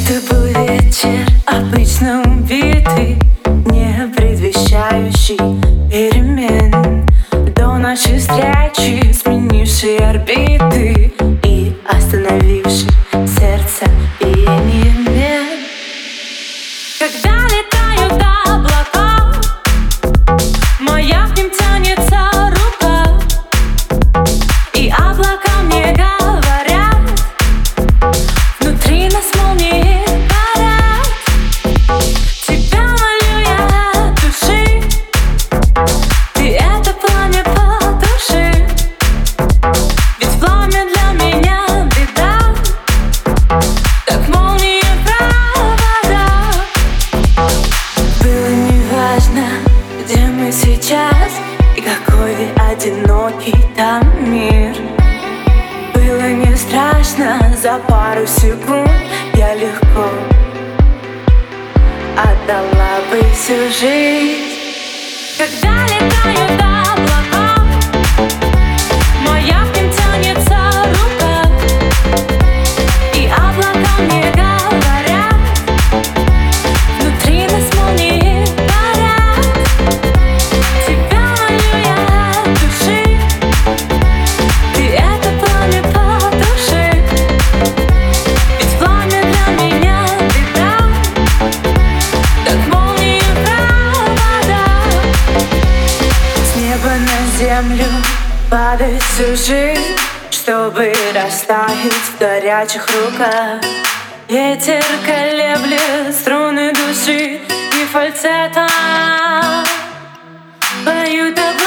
Это был вечер, обычно убитый, не предвещающий перемен. До нашей встречи, сменивший орбиты и остановивший сердце перемен. Когда летают облака, моя к ним тянется рука, и облака мне говорят: внутри нас молнии горят. Тебя молю я от души, ты это пламя потуши, ведь пламя для меня беда, как молния провода. Было неважно, где мы сейчас и какой одинокий там мир. Было не страшно, за пару секунд я легко отдала бы всю жизнь. Когда летают облака, моя к ним тянется рука, и облака мне говорят: внутри нас молнии горят. Тебя молю я от души, ты это пламя потуши, ведь пламя для меня беда, как молния провода. С неба на землю падает всю жизнь, чтобы растаять в горячих руках. Ветер колеблет струны души, и фальцетом поют об